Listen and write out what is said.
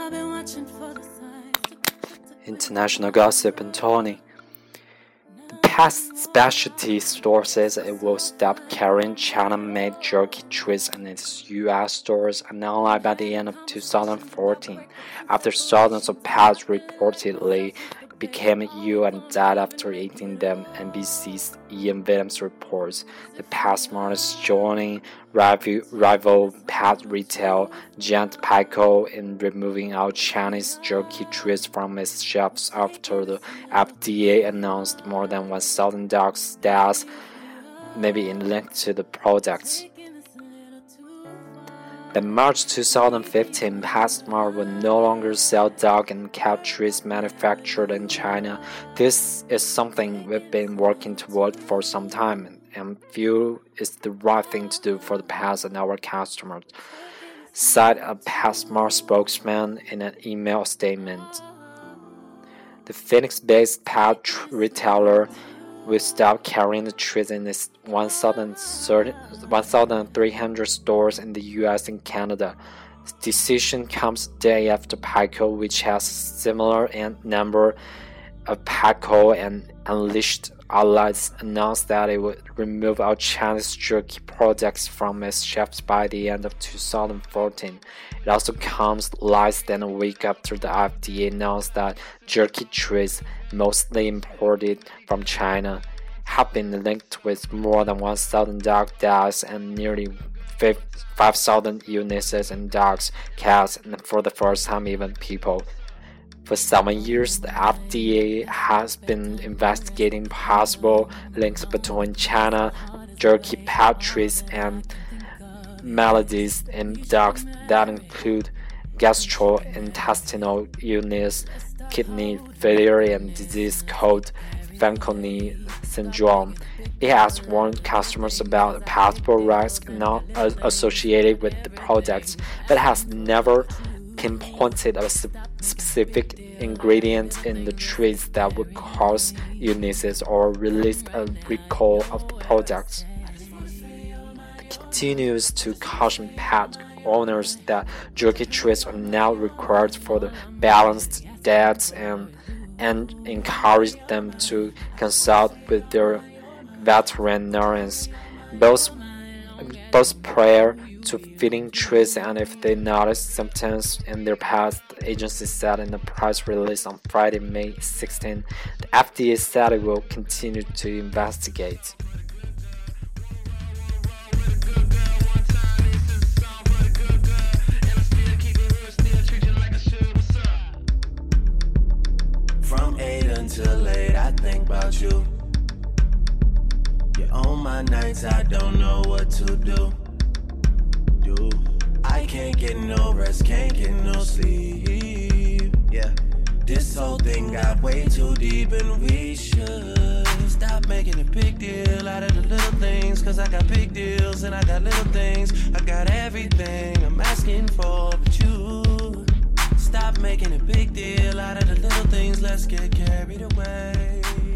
International gossip and Tony. The past specialty store says it will stop carrying China-made jerky treats in its U.S. stores and online by the end of 2014, after thousands of pets reportedly became ill and died after eating them, NBC's Ian Williams reports. The PetSmart is joining rival pet retail giant Petco in removing all Chinese jerky treats from its shelves after the FDA announced more than 1,000 dogs' deaths may be linked to the products. By March 2015, PetSmart will no longer sell dog and cat treats manufactured in China. This is something we've been working toward for some time and feel is the right thing to do for the pets and our customers, said a PetSmart spokesman in an email statement. The Phoenix-based pet retailer will stop carrying the treats in its 1,300 stores in the US and Canada. The decision comes a day after Petco, which has a similar number of Petco and Unleashed outlets, announced that it would remove all Chinese jerky products from its shelves by the end of 2014. It also comes less than a week after the FDA announced that jerky treats, mostly imported from China, have been linked with more than 1,000 dog deaths and nearly 5,000 illnesses in dogs, cats, and for the first time even people. For 7 years, the FDA has been investigating possible links between China jerky pet treats and maladies in dogs that include gastrointestinal illness, kidney failure, and disease called Fanconi syndrome. It has warned customers about possible risks not associated with the products, but has never pinpointed a specific ingredient in the treats that would cause illnesses or released a recall of the products. It continues to caution pet owners that jerky treats are now required for the balanced diets and encourage them to consult with their veterinarians, both prior to feeding treats and if they notice symptoms in their pets, the agency said in a press release on Friday, May 16. The FDA said it will continue to investigate. From 8 until late, I think about you. You're on my nights, I don't know what to do. I can't get no rest, can't get no sleep. Yeah, this whole thing got way too deep, and we should stop making a big deal out of the little things. Cause I got big deals and I got little things. I got everything I'm asking for, but you stop making a big deal out of the little things. Let's get carried away.